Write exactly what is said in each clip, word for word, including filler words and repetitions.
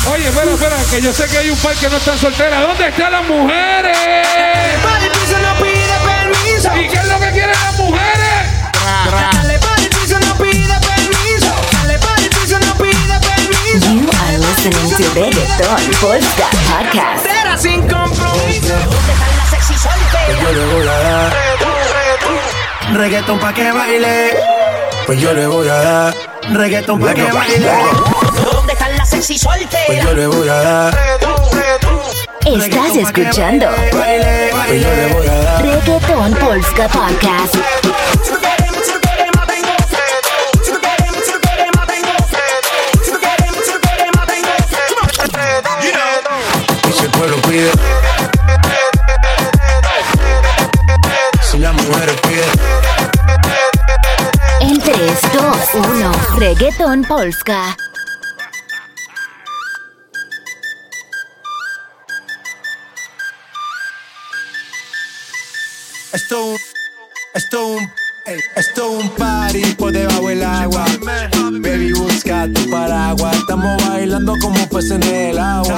Oye, espera, espera, que yo sé que hay un par que no están solteras. ¿Dónde están las mujeres? Para el piso no pide permiso. ¿Y qué es lo que quieren las mujeres? Dale para el piso no pide permiso. Dale para el piso no pide permiso. You are listening to Reggaeton Polska Podcast. Será sin compromiso. ¿Dónde están las sexy solteras? Pues yo le voy a dar reggaetón pa' que baile. Pues yo le voy a dar reggaetón pa' que baile. ¿Dónde están las sexy solteras? Pues yo le voy a dar Estás escuchando Pues yo le voy a dar Reggaeton Polska Podcast. Y si el pueblo pide, si las mujeres piden. En tres, dos, uno, Reggaeton Polska. Esto un, esto un, ey, esto un party por debajo del agua. Baby, busca tu paraguas. Estamos bailando como peces en el agua.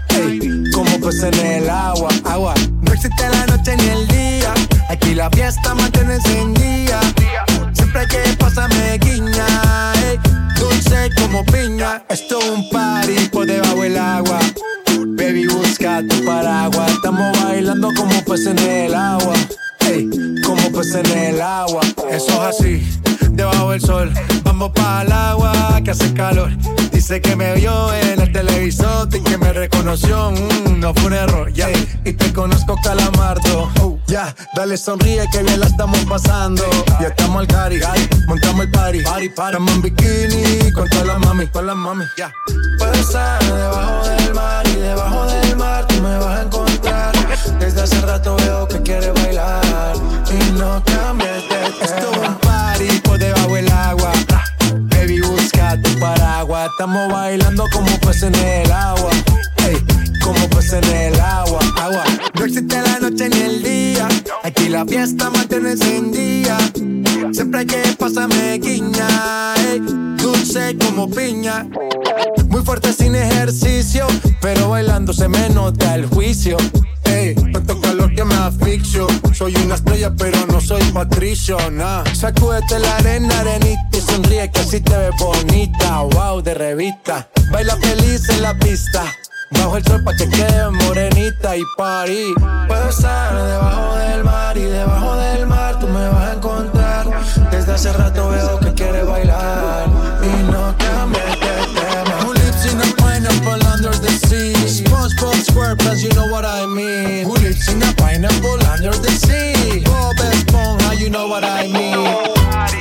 Ey, como peces en el agua. Agua. No existe la noche ni el día. Aquí la fiesta mantiene encendida. Siempre hay que pasarme guiña. Ey, dulce como piña. Esto un party por debajo del agua. Baby, busca tu paraguas. Estamos bailando como peces en el agua. Ey, como peces en el agua. Eso es así, debajo del sol. Vamos para el agua que hace calor. Dice que me vio en el televisor y que me reconoció. Mm, no fue un error, ya. Yeah. Y te conozco, Calamardo. Oh, ya, yeah. Dale sonríe que bien la estamos pasando. Ya estamos al cari, montamos el party. party, party. Estamos en bikini con todas las mami, con las mami. Ya. Yeah. Puedo estar debajo del mar y debajo del mar tú me vas a encontrar. Desde hace rato veo que quieres bailar y no cambies de tema. Esto es un party por debajo del agua. Baby, busca tu paraguas. Estamos bailando como peces en el agua. Ey, como peces en el agua. Agua. No existe la noche ni el día. Aquí la fiesta mantiene encendida. Siempre hay que pasarme guiña. Ey, dulce como piña. Muy fuerte sin ejercicio, pero bailando se me nota el juicio. Ey, tanto calor que me asfixio. Soy una estrella pero no soy Patricio, nah. Sacúdete la arena, arenita y sonríe que así te ves bonita. Wow, de revista. Baila feliz en la pista. Bajo el sol pa' que quede morenita y party. Puedo estar debajo del mar y debajo del mar tú me vas a encontrar. Desde hace rato veo que quieres bailar y no cambies de tema. Who lives in a pineapple under the sea? SpongeBob SquarePants, you know what I mean. Who lives in a pineapple under the sea? Bob Esponja, you know what I mean.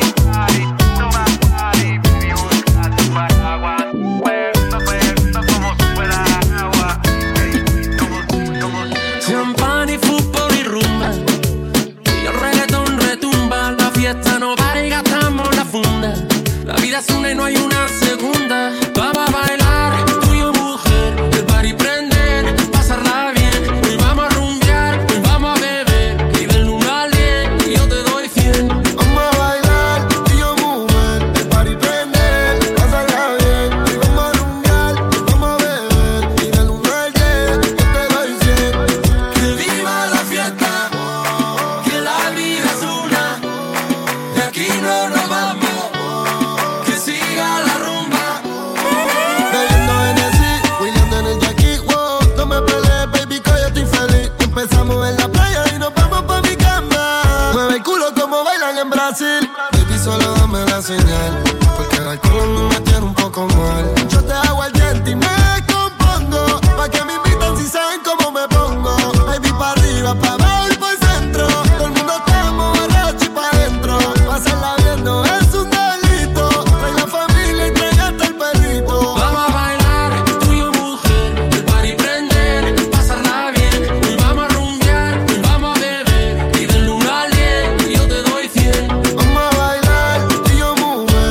Champán y fútbol y rumba, y el reggaetón retumba. La fiesta no para y gastamos la funda. La vida es una y no hay una segunda. Vamos a bailar, tú y yo mujer. El party prender, pasarla bien. Hoy vamos a rumbear, hoy vamos a beber. Y del uno al diez, y yo te doy cien. Vamos a bailar, tú y yo mujer. El party prender, pasarla bien. Hoy vamos a rumbear, hoy vamos a beber. Y del uno al diez, yo te doy cien. Que viva la fiesta, que la vida es una. De aquí no nos vamos. Que siga la rumba. Bebiendo Hennessy, William en el Jackie, wow. No me pelees, baby, que yo estoy feliz. Empezamos en la playa y nos vamos pa' mi cama. Mueve el culo como bailan en Brasil. Baby, solo dame la señal, porque el alcohol me tiene un poco mal. Yo te hago el diente y me compongo, pa' que me invitan si saben cómo me pongo. Baby, pa' arriba, pa' abajo y por centro. Todo el mundo estamos borracho y pa' dentro. Pasarla bien no es un delito. Trae la familia y trae hasta el perrito. Vamos a bailar, tú y yo mujer. El party prender, pasarla bien. Hoy vamos a rumbear, hoy vamos a beber. Y del uno al diez, y yo te doy cien. Vamos a bailar, tú y yo mujer.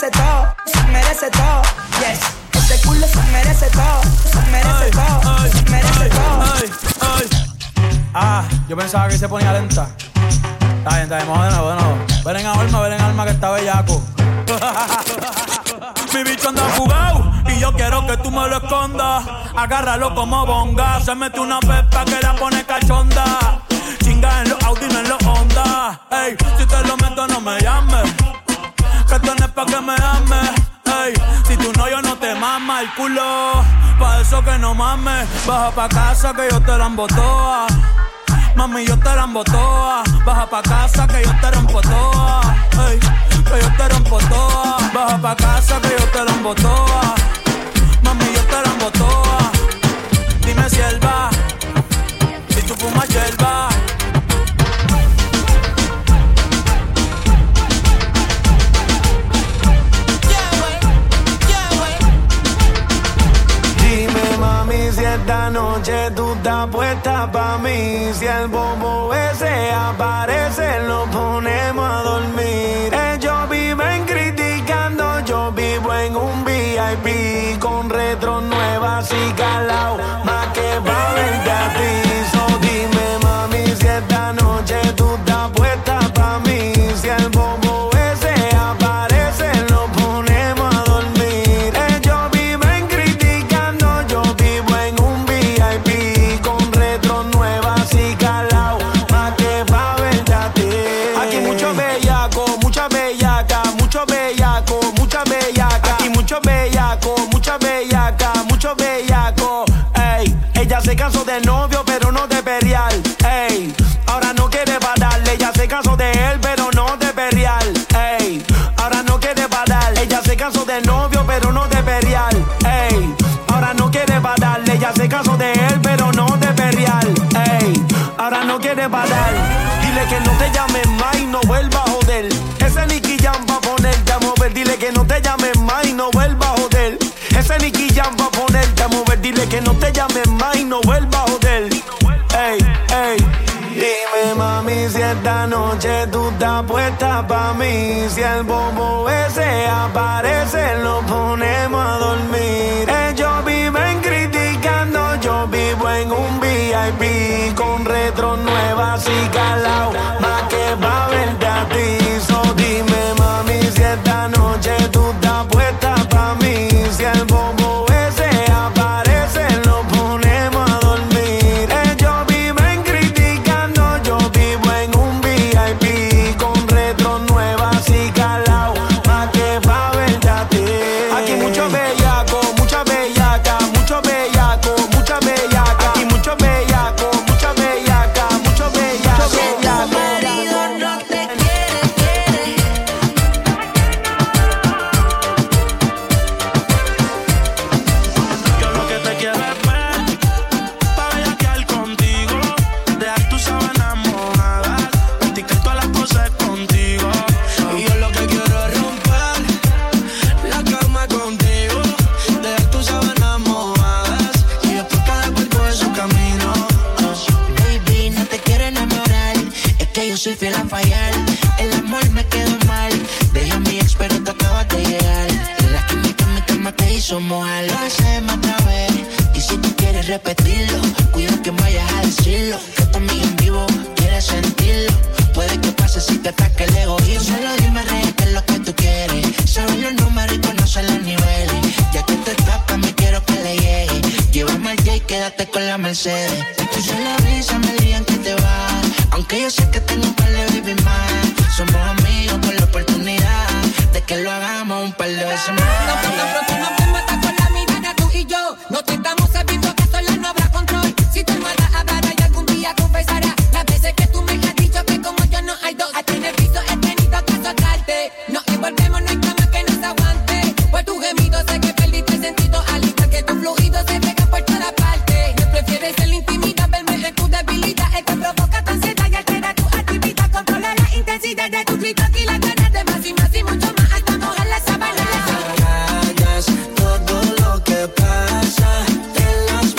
merece todo, se merece todo. Yes, este culo se merece todo, se merece todo, se merece todo. Ay, ay. Ah, yo pensaba que se ponía lenta. Está bien, está bien, vamos de nuevo, de nuevo. Ven en alma, ven en alma que está bellaco. Mi bicho anda jugado y yo quiero que tú me lo escondas. Agárralo como bonga. Se mete una pepa que la pone cachonda. Chinga en los Audi, no en los Honda. Ey, si te lo meto no me llames, que esto no es pa' que me ames. Ey, si tú no, yo no te mama el culo. Pa' eso que no mames. Baja pa' casa que yo te la embotoa. Mami, yo te la embotoa. Baja pa' casa que yo te rompo toa. Ey, que yo te rompo toa. Baja pa' casa que yo te la embotoa. Mami, yo te la embotoa. Dime si él va, si tú fumas yerba. Si esta noche tú estás puesta pa' mí, si el bobo ese aparece, lo ponemos a dormir. Ellos viven criticando, yo vivo en un V I P con retro nuevas y calao, más que pa' verte a ti. So dime mami, si esta noche tú estás puesta pa' mí, si el bobo ese aparece, lo ponemos a dormir. Ellos viven criticando, yo vivo en un V I P con retro nuevas y calao, más que pa' verte a ti. Aquí mucho bellaco, mucha bellaca, mucho bellaco, mucha bellaca. Aquí mucho bellaco, mucha bellaca, mucho bellaco. Ey, ella se casó de novio pero no de perial. Ey, ahora no quiere pararle. Ella se casó de él pero no de perial. Ey, ahora no quiere parar. Ella se casó de novio pero no de perial. Ey, ahora no quiere pararle. Ella se casó de él pero no de perial. Ey, ahora no quiere parar. Dile que no te llames más y no vuelva a joder. Ese Nicky Jam va a ponerte a mover. Dile que no te llames más y no vuelva a joder. Ese Nicky Jam va a ponerte a mover. Dile que no te llames más y no vuelva a joder. Ey, ey. Dime mami, si esta noche tú estás puesta pa' mí, si el bobo ese aparece, lo ponemos a dormir. Ellos viven criticando, yo vivo en un V I P con retro nuevas y calao, más que pa' verte a ti. So dime mami, si esta noche tú estás puesta pa' mí, si el bobo ese aparece, lo ponemos a dormir. Ellos viven criticando, yo vivo en un V I P con retro nuevas y calao, más que pa' verte a ti. Aquí mucho bellaco, mucha bellaca, mucho bellaco, mucha bellaca. Aquí mucho bellaco, mucha bellaca, mucho bellaco. Tu marido no te quiere, quiere. Yo lo que te quiero es ver, pa' bellaquear contigo, dejar tus sábanas mojadas, practicar todas las cosas contigo. Y yo lo que quiero es romper la cama contigo, dejar tus sábanas mojadas y después cada cual coge su camino. Baby, no te quiero enamorar, es que yo soy fiel a fallar. El amor me quedó mal, dejé a mi ex pero tú acabas de llegar. La química en mi cama te hizo mojar. Lo hacemos otra vez, y si tú quieres repetirlo, cuida que vayas a decirlo, que tu amiga en vivo quiere sentirlo. Puede que pase si te ataque el egoísmo. Solo dime, rey, qué es lo que tú quieres. Sabes los números y conoces los niveles. Ya que te tapas, me quiero que le llegue. Llévame al J y quédate con la Mercedes. Escucha la brisa, me digan que te vas, aunque yo sé que tengo un par de baby más. Somos amigos con la oportunidad de que lo hagamos un par de veces más. No, tan pronto nos vemos hasta con la mirada tú y yo. No te estamos sabiendo que sola no habrá control. Si tu hermana hablará y algún día confesará las veces que tú me has dicho que como yo no hay dos. A ti en el piso he tenido que soltarte. Nos envolvemos, no hay cama que nos aguante. Por tu gemido sé que perdiste el sentido, al igual que tu fluido se pega por toda parte. Me prefieres en la intimidad, verme en tu debilidad. Es que provoca tu ansiedad y altera tu actividad. Controla la intensidad de tu grito y las ganas de más y más y mucho más hasta mojar la sábana. Hagas todo lo que pasa en las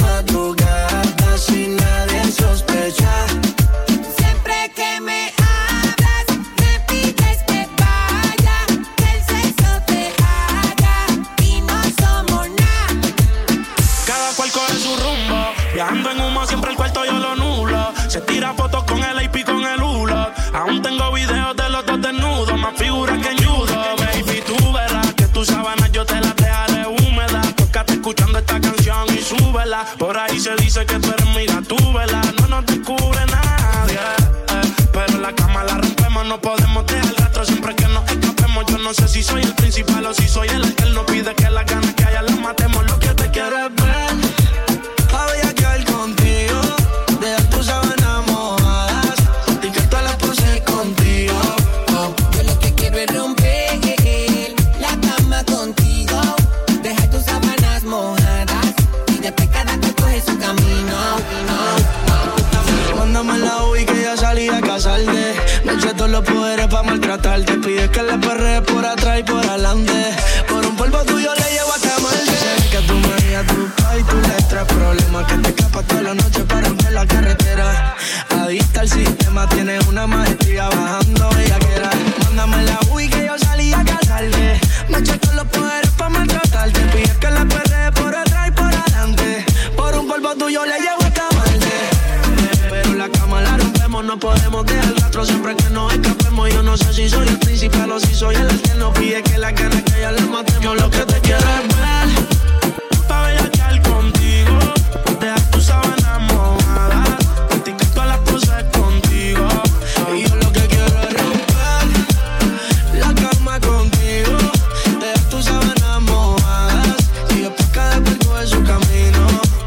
siempre el cuarto yo lo nulo. Se tira fotos con el A P con el hulo. Aún tengo videos de los dos desnudos, más figuras que en judo. Baby, tú verás que tus sábanas yo te las dejaré húmedas. Tócate escuchando esta canción y súbela. Por ahí se dice que tú eres mi gatúbela. No nos descubre nadie, eh, pero en la cama la rompemos. No podemos dejar rastro siempre que nos escapemos. Yo no sé si soy el principal o si soy el que él no pide que las ganas que haya las matemos. Lo que te quiero es ver, pa' bellaquear contigo, dejar tus sábanas mojadas y que todas las poses contigo. Oh, yo lo que quiero es romper la cama contigo, dejar tus sábanas mojadas y después cada cual coge su camino. Mándame la U I que ya salí a casarte. No eché todos los poderes pa' maltratarte. Pides que le perrees por atrás y por adelante. Por un polvo tuyo le llevo a quemarte. Sé que tú me digas tu pa' y tú le traes problemas. Que te escapas toda la noche para romper la carretera. Adicta al sistema, tienes una maestría bajando bellaquera. Mándame la U I que yo salí a casarte. No eché todos los poderes pa' maltratarte. Pides que le perrees por atrás y por adelante. Por un polvo tuyo le llevo a quemarte. Pero la cama la rompemos, no podemos dejar rastro siempre que nos escapemos. Yo no sé si soy el principal o si soy el que nos pide que la gana que ya le matemos. Yo lo que te quiero es ver, pa' bellaquear contigo, dejar tus sábanas mojadas, practicar todas las poses contigo. Y yo lo que quiero es romper la cama contigo, dejar tus sábanas mojadas y después cada cual coge su camino.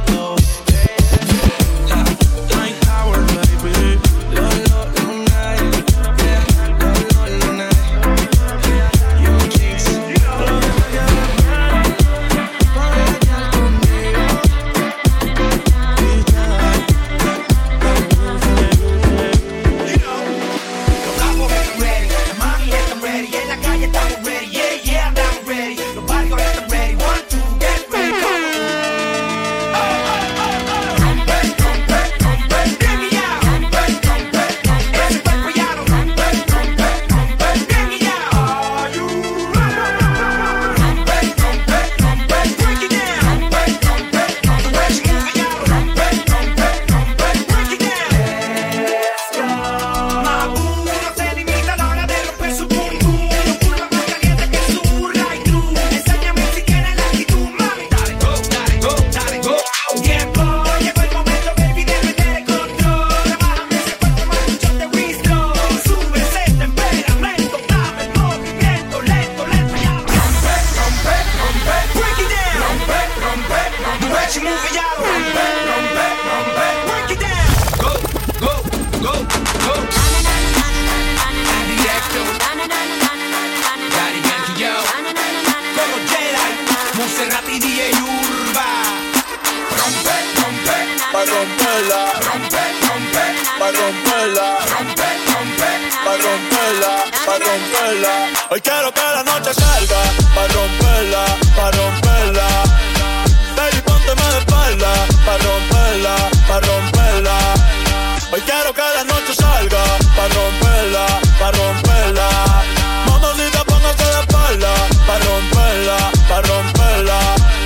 Hoy quiero que la noche salga pa' romperla, pa' romperla. Baby, pónteme de espalda pa' romperla, pa' romperla. Hoy quiero que la noche salga pa' romperla, pa' romperla. Mamacita, póngase de espalda pa' romperla, pa' romperla.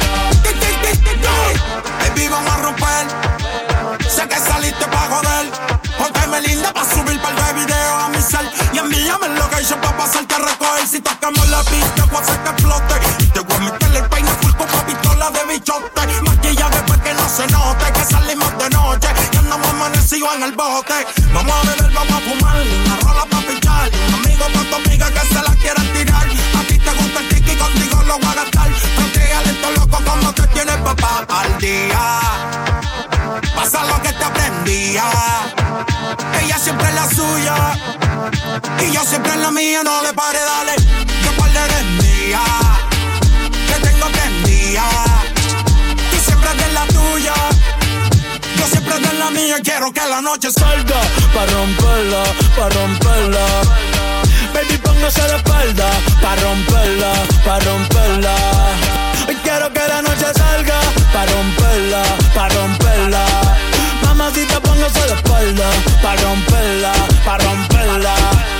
Baby, vamos a romper. Sé que saliste pa' joder. Pónteme linda pa' subir par de videos a mi cel. Y envíame el location pa' pasarte a recoger. Si tocamos la pista, voy a hacer que explote. Y te voy a meter el peine full con pa' pistola de bichote. Maquilla después que no se note que salimos de noche y andamos amanecidos en el bote. Vamos a beber, vamos a fumar, una rola pa' pichar. Un amigo con tu amiga que se la quieran tirar. A ti te gusta el tiki, contigo lo voy a gastar. Porque lento loco como te tienes papá al día. Pasa lo que te aprendía. Ella siempre es la suya y yo siempre en la mía. No le pare, dale, que par de eres mía, que tengo prendida. Tú siempre eres la tuya, yo siempre eres la mía. Quiero que la noche salga pa' romperla, pa' romperla. Baby, póngase de espalda pa' romperla, pa' romperla. Hoy quiero que la noche salga pa' romperla, pa' romperla. Mamacita, póngase de espalda pa' romperla, pa' romperla.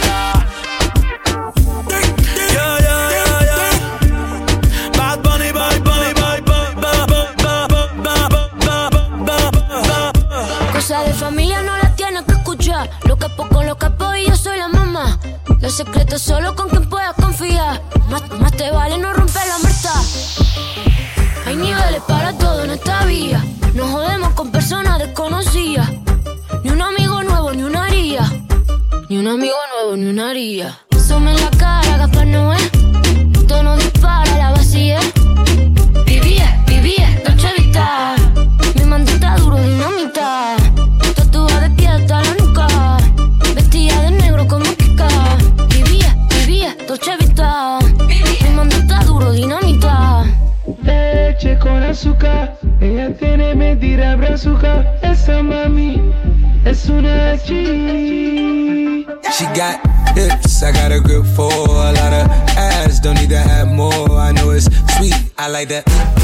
Yeah, yeah, yeah, yeah. Bad Bunny, Bad Bunny, Bad Bunny, Bad Bunny, Bad Bunny, Bad Bunny. Cosas de familia no las tienes que escuchar. Los capos con los capos y yo soy la mamá. Los secretos solo con quien puedas confiar. Más, más te vale no romper la muerta. Hay niveles para todo en esta vía. No jodemos con personas desconocidas. Ni un amigo nuevo, ni una haría. Ni un amigo nuevo, ni una haría. Sume en la cara, Gaspar Noé. Tono dispara, la vacía. Vivía, vivía, Dolce Vita. Mi mandita duro, dinamita. Tatuada de pie hasta la nuca. Vestida de negro como Kika. Vivía, vivía, Dolce Vita. Mi mandita duro, dinamita. Leche con azúcar. Ella tiene mentira brazuca. Esa mami es una G. She got hips, I got a grip for a lot of ass. Don't need to have more. I know it's sweet, I like that.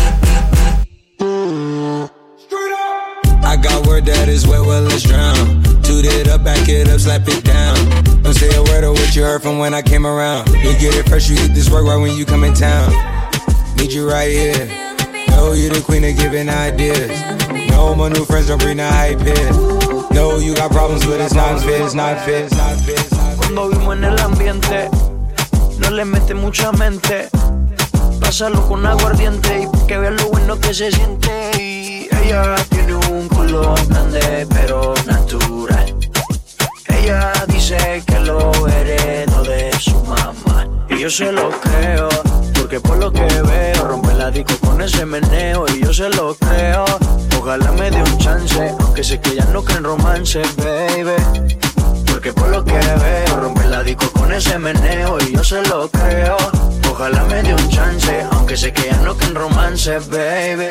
I got word that is wet, well let's drown. Toot it up, back it up, slap it down. Don't say a word of what you heard from when I came around. You get it fresh, you get this work right when you come in town. Need you right here. Know you the queen of giving ideas. No, my new friends don't bring the hype here. No, you got problems with it's not fit, it's not fit, it's not fit. Cuando vimos en el ambiente, no le mete mucha mente. Pásalo con aguardiente y que vean lo bueno que se siente. Y ella tiene un culo grande pero natural. Ella dice que lo heredó de su mamá. Y yo se lo creo, porque por lo que veo rompe la disco con ese meneo. Y yo se lo creo, ojalá me dé un chance, aunque sé que ella no cree en romance, baby. Porque por lo que veo rompe la disco con ese meneo. Y yo se lo creo, ojalá me dé un chance, aunque sé que ella no cree en romance, baby.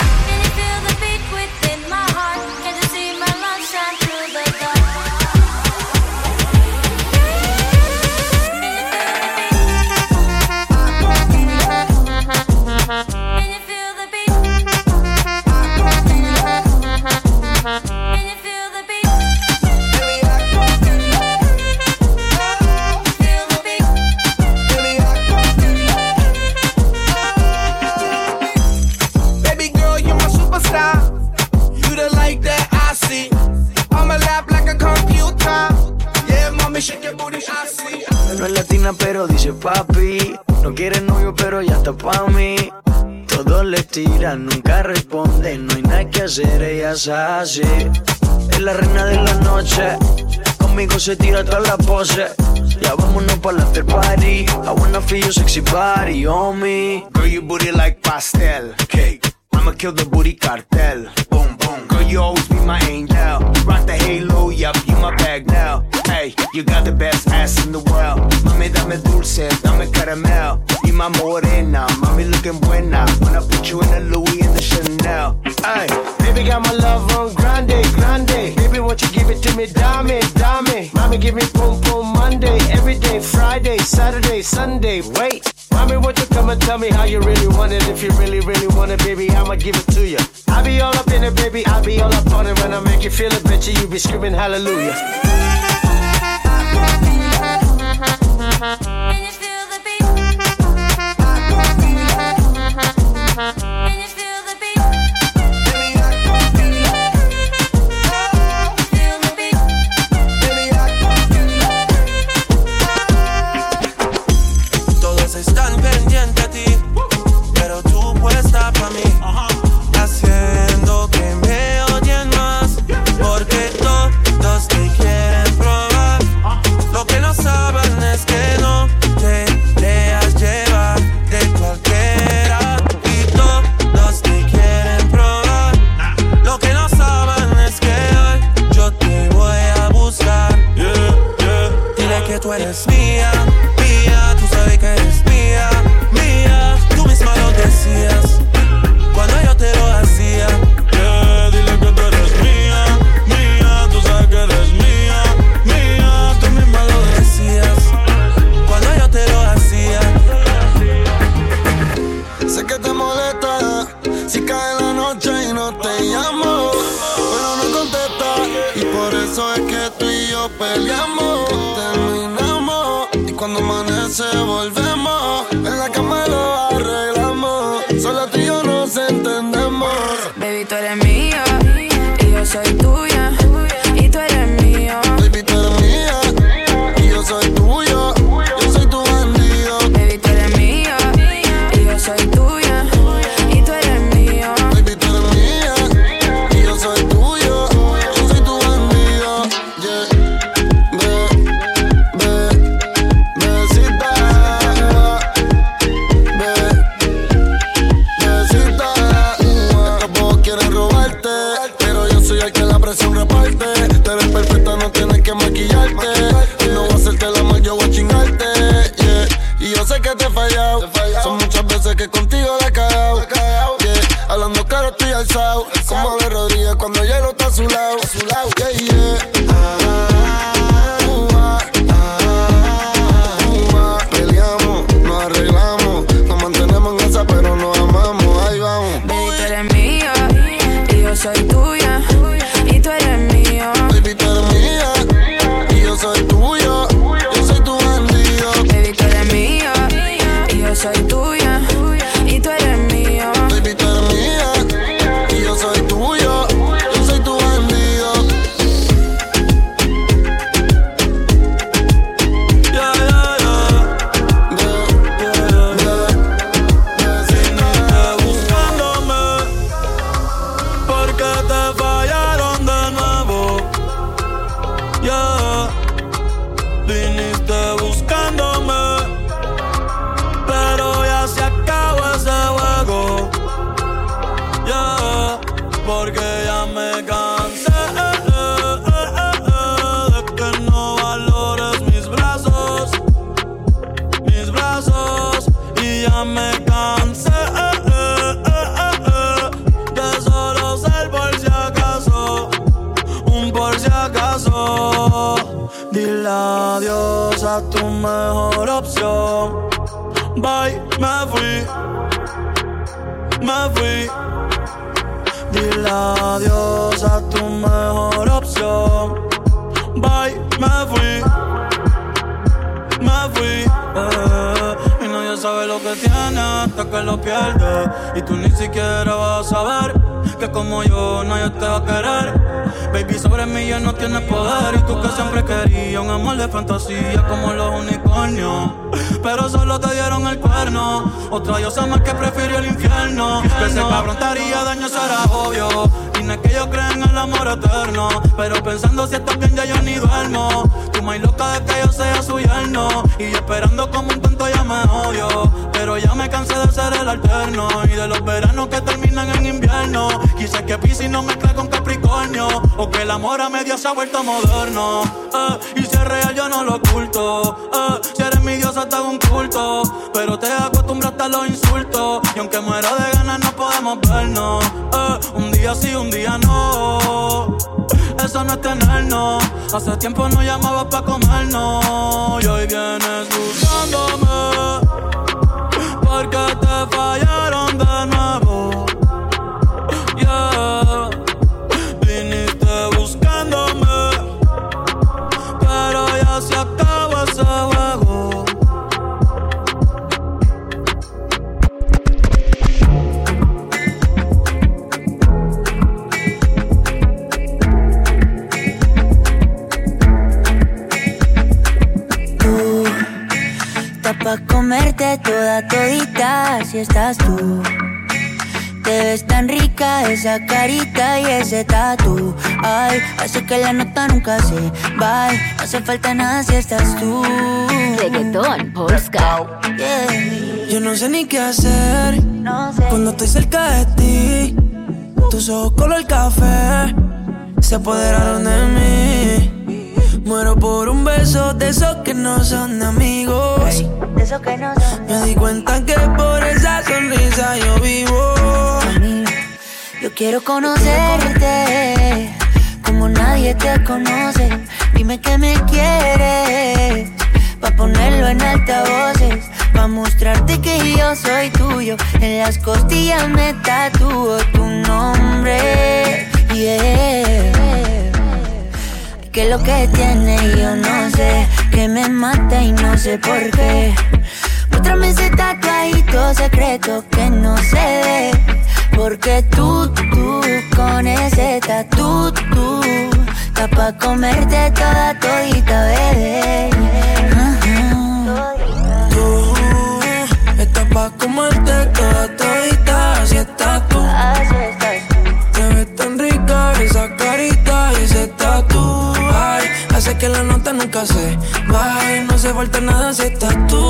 No es latina pero dice papi. No quiere novio pero ya está pa' mí. Todos le tiran, nunca responde. No hay nada que hacer, ella es así. Es la reina de la noche. Conmigo se tira toda la pose. Ya vámonos pa' la after party. I wanna feel your sexy body on me. Girl, your booty like pastel cake. I'ma kill the booty cartel. Boom, boom. Girl, you always be my angel. Rock the halo, yup, you my bag now. Hey, you got the best ass in the world. Mami, dame dulce, dame caramel. Y my morena, mami looking buena. When I put you in the Louis and the Chanel. Hey, baby got my love on grande, grande. Baby, won't you give it to me, dame, dame. Mami, give me boom, boom, Monday, every day, Friday, Saturday, Sunday. Wait, mami, won't you come and tell me how you really want it? If you really, really want it, baby, I'ma give it to you. I be all up in it, baby, I be all up on it. When I make you feel it, bet you, you be screaming hallelujah. Can you feel the beat? Can you feel the beat? Feel the beat. Todos están pendientes a ti, pero tú puesta pa' mí, haciendo que me odien más, porque todos te quieren probar. Lo que no saben es que no te dejas llevar de cualquiera, y todos te quieren probar. Lo que no saben es que hoy yo te voy a buscar. Yeah, yeah. Dile que tú eres mía, mía, tú sabes que eres mía, mía. Tú misma lo decías cuando yo te lo hacía. Yeah, dile que tú eres mía, mía, tú sabes que eres mía, mía. Tú misma lo decías cuando yo te lo hacía. Sé que te molesta si cae la noche y no te llamo, pero no contesta, y por eso es que tú y yo peleamos, terminamos, y cuando amanece volvemos, en la cama lo arreglamos, solo tú y yo nos entendemos. Baby, tú eres mía y yo soy tuya. por si acaso. Dile adiós a tu mejor opción. Bye, me fui, me fui. Dile adiós a tu mejor opción. Bye, me fui, me fui. Eh, y nadie sabe lo que tiene hasta que lo pierde. Y tú ni siquiera vas a saber que como yo nadie te va a querer. Baby, sobre mí ya no tienes poder. Y tú que siempre querías un amor de fantasía como los unicornios, pero solo te dieron el cuerno. Otra diosa más que prefirió el infierno. Que ese cabrón te haría daño, eso era obvio. Y no es que yo crea en el amor eterno, pero pensando si estás bien ya yo ni duermo. Tú más loca de que yo sea su yerno. Y yo esperando como un tonto ya me odio. Pero ya me cansé de ser el alterno y de los veranos que terminan en invierno. Quizás que Piscis no mezcla con Capricornio, o que el amor a media se ha vuelto moderno. eh, Y si es real yo no lo oculto. eh, Si eres mi diosa te hago un culto, pero te acostumbraste a los insultos. Y aunque muero de ganas no podemos vernos. eh, Un día sí, un día no. Eso no es tenernos. Hace tiempo no llamabas pa' comernos. Y hoy vienes buscándome porque te fallaron de nuevo. Yeah. Viniste buscándome, pero ya se acabó ese juego. Tú estás pa' comerte toda todita si estás tú. Te ves tan rica esa carita y ese tatu. Ay, hace que la nota nunca se va. No hace falta nada si estás tú. Reggaetón, Polska. Yeah. Yo no sé ni qué hacer no sé. Cuando estoy cerca de ti. Tus ojos color café se apoderaron de mí. Muero por un beso de esos que no son amigos. Hey, de esos que no son. Me di cuenta que por esa sonrisa yo vivo. Yo quiero conocerte como nadie te conoce. Dime que me quieres pa' ponerlo en altavoces, pa' mostrarte que yo soy tuyo. En las costillas me tatúo tu nombre. Yeah. Que es lo que tiene yo no sé, que me mata y no sé por qué. Muéstrame ese tatuajito secreto que no se ve, porque tú, tú, con ese tatu, tú, está pa' comerte toda todita, bebé. Uh-huh. Tú, estás pa' comerte toda todita, así estás tú. Así estás tú. Te ves tan rica esa carita y ese tatu. Ay, hace que la nota nunca se va. No hace falta nada si estás tú.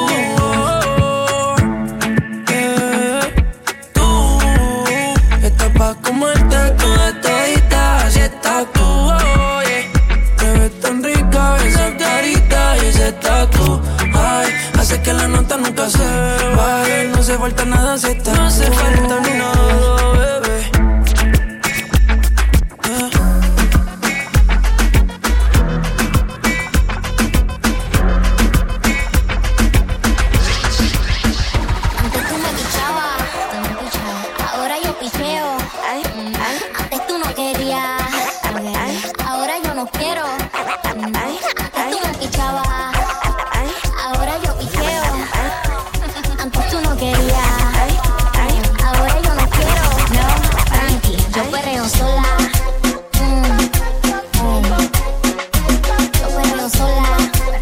Pa' comerte toda todita, así estás tú, oh, yeah. Te ves tan rica esa carita y ese tatu. Ay, hace que la nota nunca se baje. No hace falta nada si estás tú. No hace falta ni nada, bebé. Antes tú me pichabas, tú me pichabas. Ahora yo picheo. Antes tú no querías, ahora yo no quiero. Antes tú me pichabas, ahora yo picheo. Antes tú no querías, ahora yo no quiero. No, tranqui, yo perreo sola. Mm, mm. Yo perreo sola.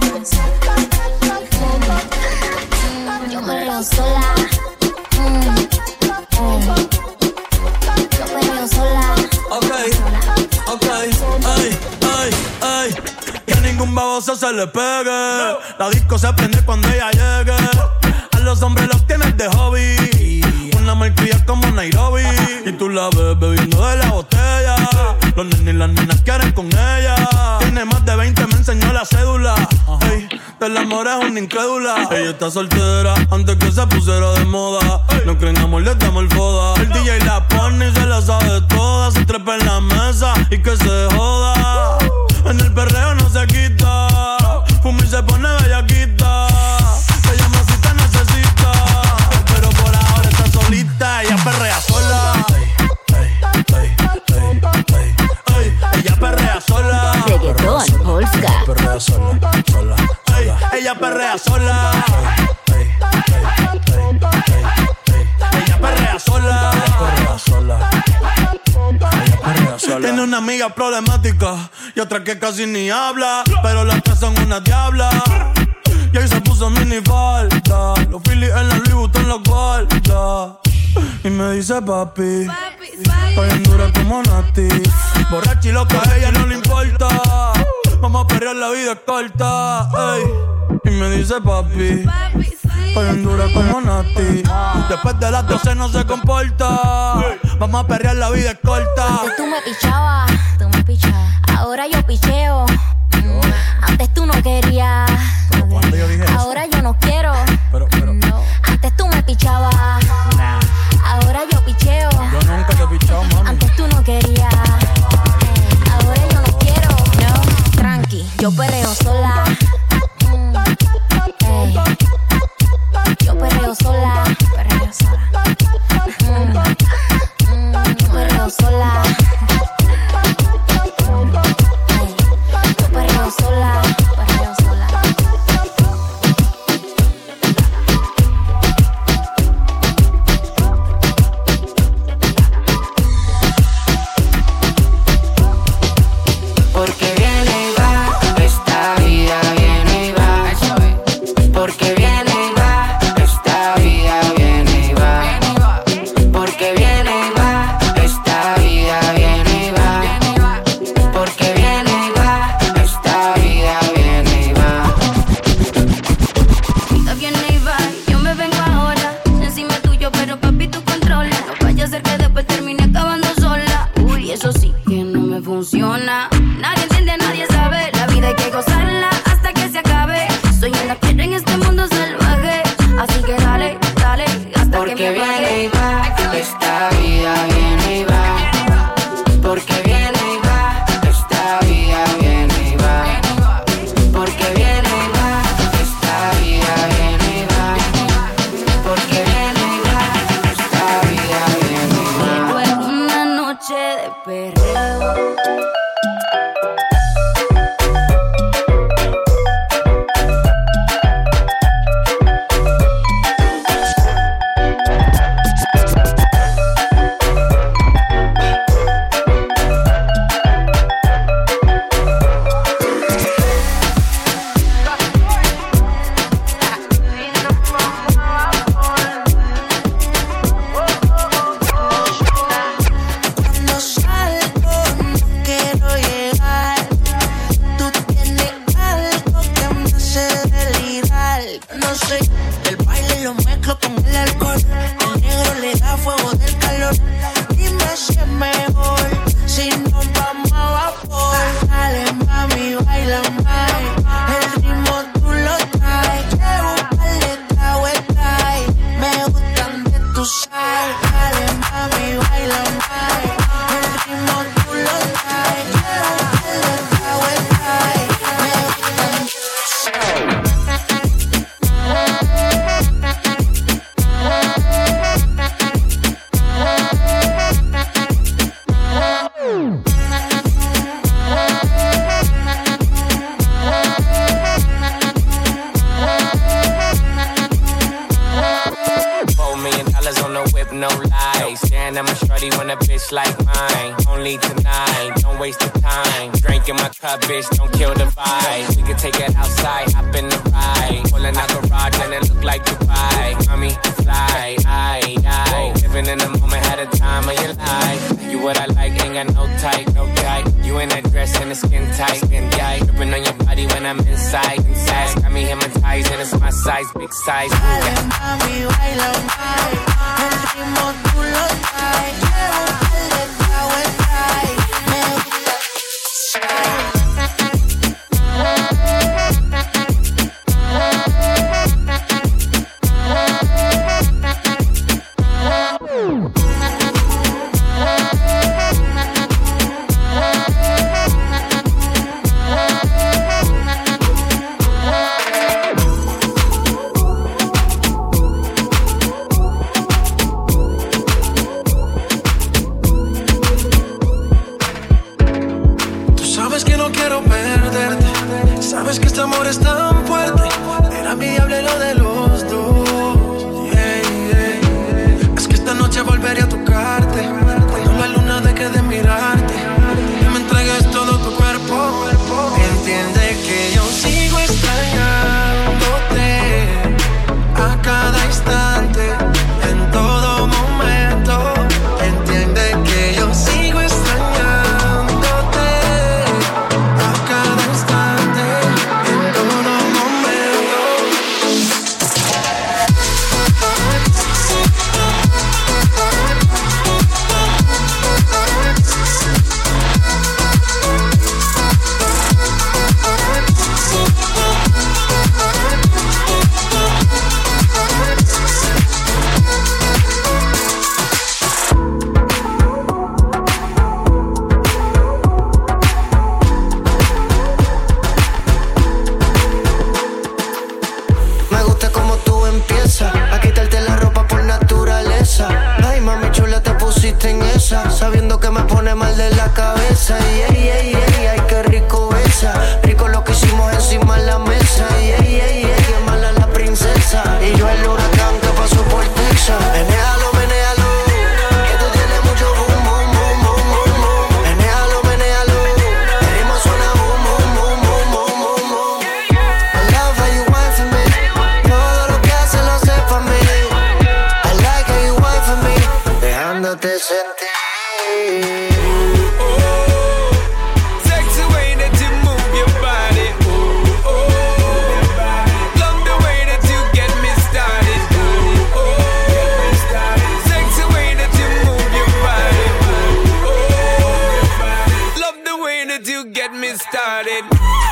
Mm, yo perreo sola. Mm, mm. Yo perreo sola. Ok, ok, ay, ay, ay. Que a ningún baboso se le pegue. La disco se prende cuando ella llegue. A los hombres los tienes de hobby. Una malcria como Nairobi. Y tú la ves bebiendo de la botella. Los nenes y las nenas quieren con ella. Tiene más de veinte, me enseñó la cédula. Ey, del amor es una incrédula. Ella está soltera antes que se pusiera de moda. No creen amor, le damos el foda. El D J la pone y se la sabe toda. Se trepa en la mesa y que se joda. En el perreo no se quita. Fuma y se pone bellaquita. Se llama si te necesita. Pero por ahora está solita. Ella perrea sola. Ella perrea sola. Reggaetón, Polska. Perrea sola, sola, sola. Ella perrea sola. Ella perrea sola. Perrea sola. Ella perrea sola. Tiene una amiga problemática y otra que casi ni habla, pero las tres son una diabla. Y ahí se puso mini falta. Los Phillies en la Louis Vuitton los guarda. Y me dice papi, estoy en dura como Nati. Borracha y loca, a ella no le importa. Vamos a perrear, la vida es corta, ey. Y me dice papi, estoy en dura como Nati. Después de las doce no se comporta. Vamos a perrear, la vida es corta. Antes tú me pichabas, tú me pichabas. Ahora yo picheo. Antes tú no querías. Yo dije ahora yo no quiero. Pero, pero. No. Antes tú me pichabas. Nah. Ahora yo picheo. Yo nunca te he pichado, mami. Antes tú no querías. Ahora yo no quiero. No, tranqui, yo perreo sola. Mm. Ey. Yo perreo sola. Perreo sola. Mm. Mm. Perreo sola. Ey. Yo perreo sola. Perreo sola. Porque viene y va, esta vida viene y va. Porque viene y va, esta vida viene y va. Porque viene y va, esta vida viene y va. Porque viene y va, esta vida viene y va. Vida viene y va, yo me vengo ahora. Encima tuyo, pero papi tú controla. No vaya a ser que después termine acabando sola. Uy, eso sí que no me funciona. Nadie entiende, nadie sabe. La vida hay que gozarla hasta que se acabe. Soy una piedra en este mundo salvaje. Así que dale, dale, hasta Porque que me viene apague. y va, esta vida viene y va. Porque viene y va, esta vida viene y va. Porque viene y va, esta vida viene y va. Porque viene y va, esta vida viene y va. Fue una noche de perreo. Cuando salgo no quiero llegar. Tú tienes algo que me hace delirar. No sé, el baile lo mezclo con el alcohol. El negro le da fuego del calor. Dime si es mejor si nos vamos a vapor. Dale mami, baila más. El ritmo tú lo traes. Llevo un par de tragos, trae. Me gustan de tu sal. Dale mami, baila más. El ritmo tú lo traes. Llevo un par de tragos, trae. Me gustan de tu sal. Four million dollars on the whip, no lies. Staring at my shorty when a bitch like mine. Only tonight, don't waste the time. Drink in my cup, bitch, don't kill the vibe. We can take it outside, hop in the ride. Pulling out garage and it look like Dubai. Mommy, fly, aye, aye. Living in the moment, had a time of your life. You what I like, ain't got no type, no type. You in that dress and the skin tight, skin tight. Gripping on your body when I'm inside, inside. Got me hypnotized and it's my size, big size. Dale mami, baila más. El ritmo tú lo traes. Llevo un par de tragos, trae. Me gusta. quiero perderte. Sabes que este amor es tan fuerte, era envidiable lo de los dos. Yeah, yeah. Es que esta noche volveré a tocarte, cuando la luna deje de mirarte y me entregues todo tu cuerpo. Entiende que yo sigo extrañándote a cada instante, en todo momento. Entiende que yo sigo extrañándote a cada instante, en todo momento. Me gusta como tú empiezas a quitarte la ropa por naturaleza. Ay, mami chula, te pusiste en esa, sabiendo que me pone mal de la cabeza. Y ay, ay, ay, ay, qué rico besa. Rico lo que hicimos encima de la mesa. Y ay, ay, ay, qué mala la princesa. Y yo el huracán que pasó por Texas. Menéalo, menéalo, que tú tienes mucho boom, boom, boom, boom, boom, boom. Menéalo, menéalo, el ritmo suena boom, boom, boom, boom, boom, boom, boom. I love how you whine for me. Todo lo que haces lo haces pa' mí. I like how you whine for me. Dejándote sentir. Sexy way that you move your body. Ooh, oh. Love the way that you get me started. Ooh, oh. Sexy way that you move your body. Ooh, oh. Love the way that you get me started.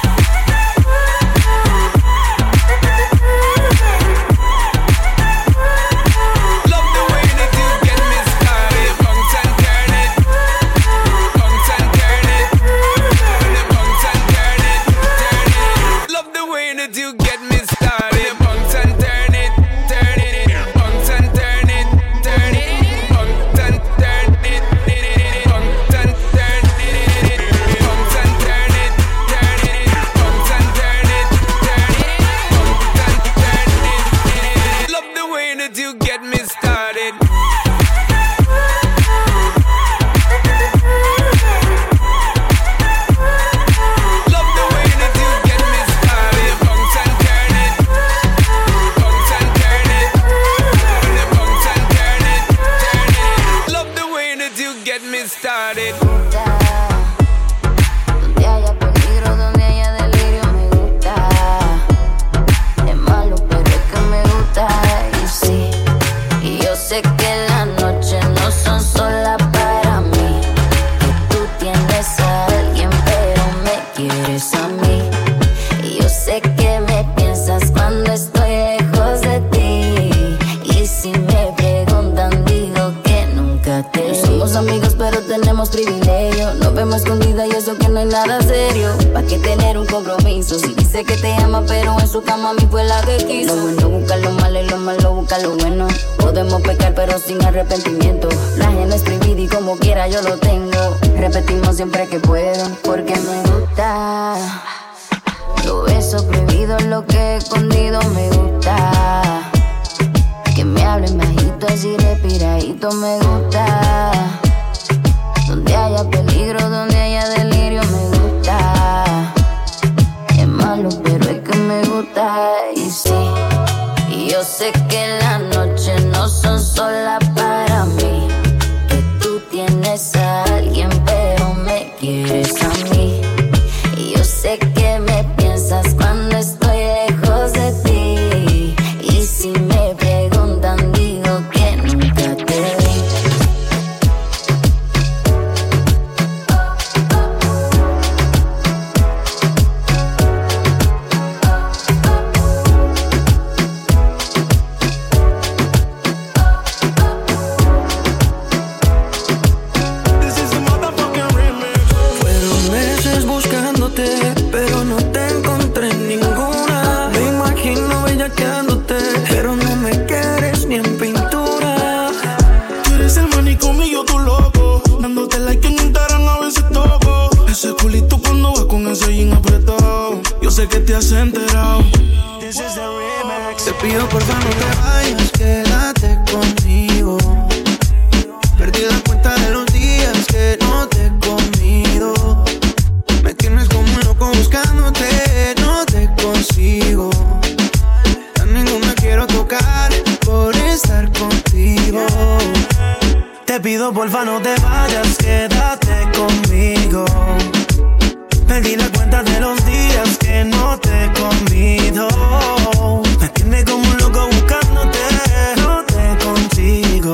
Love the way that you get me started. Bounce and turn it. Bounce and turn it. Bounce and turn it. Turn it. Love the way that you get me started. Bounce and turn it. Turn it. Bounce and turn it. Turn it. Bounce and turn it. Bounce and turn it. Bounce and turn it. Turn it. Bounce and turn it. Turn it. Bounce and turn it. Love the way that you get me started. Love the way that you get me started. Bounce and turn it. Bounce and turn it. Bounce and turn it. Turn it. Love the way that you get me started. Donde haya peligro, donde haya delirio, me gusta. Es malo, pero es que me gusta. Y sí, y yo sé que las noches no son solas para mí. Que tú tienes a alguien, pero me quieres a mí. Y yo sé que me piensas cuando estoy lejos de ti. Y si me preguntan, digo que nunca te vi. Somos amigos, pero tenemos privilegio. Nos vemos escondida y eso que no hay nada serio. ¿Pa' qué tener un compromiso? Si dice que te ama, pero en su cama a mí fue la que quiso. Lo bueno busca lo malo y lo malo busca lo bueno. Podemos pecar, pero sin arrepentimiento. La ajena es prohibida y como quiera yo lo tengo. Repetimos siempre que puedo, porque me gusta. Los besos prohibidos, lo que he escondido me gusta. Que me hablen bajito, así respiradito me gusta. Donde haya peligro, donde haya delirio me gusta. Es malo, pero es que me gusta. Y sí, y yo sé que las noches no son solas para mí. Que tú tienes a alguien, pero me quieres a mí. Y yo sé que me piensas cuando estoy lejos de ti. Y si me preguntan, digo que nunca te vi. Fueron meses buscándote, pero yo sé que te has enterado. Te pido por favor no te vayas, quédate conmigo. Perdí la cuenta de los días que no te he comido. Me tienes como un loco buscándote, no te consigo. A ninguna quiero tocar por estar contigo. Te pido porfa no te vayas, quédate conmigo. Perdí la cuenta de los días que no te he comido. Me tienes como un loco buscándote, no te consigo.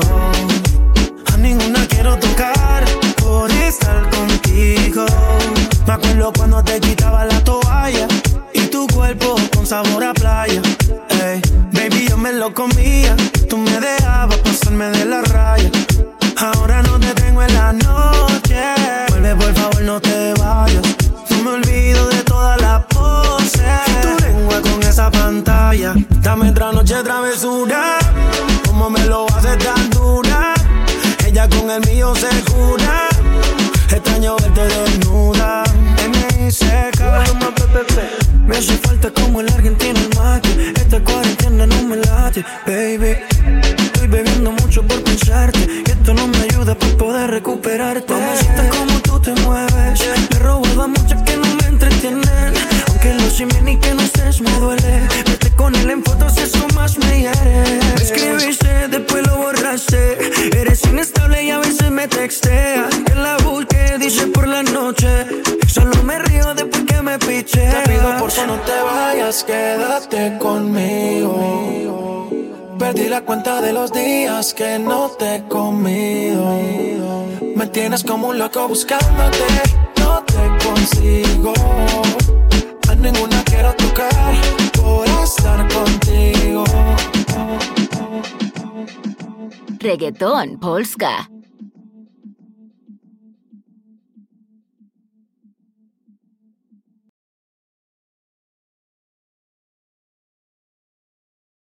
A ninguna quiero tocar por estar contigo. Me acuerdo cuando te quitaba la toalla y tu cuerpo con sabor a playa. Ey, baby, yo me lo comía, tú me dejabas pasarme de la raya. Ahora no te tengo en la noche, vuelve por favor no te vayas. No me olvido de todas las poses, tu lengua con esa pantalla. Dame otra noche travesura, como me lo haces tan dura. Ella con el mío se jura, extraño verte desnuda. M I C K, me hace falta como el argentino el mate. Esta cuarentena no me late, baby. Estoy bebiendo mucho por pensarte y esto no me ayuda para poder recuperarte. Mamacita, como tú te mueves, me he robado a muchas que no me entretienen. Aunque lo simen ni que no estés me duele. Vete con él en fotos, eso más me hiere. Me escribiste, después lo borraste. Eres inestable y a veces me texteas. Que la busque, dice por la noche. Solo me río después que me picheas. Te pido por favor no te vayas, quédate conmigo. Perdí la cuenta de los días que no te he comido. Me tienes como un loco buscándote, no te consigo. A ninguna quiero tocar por estar contigo. Reggaeton Polska.